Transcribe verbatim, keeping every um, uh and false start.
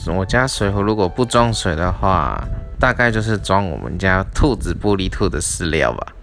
我家水壶如果不装水的话，大概就是装我们家兔子布利兔的饲料吧。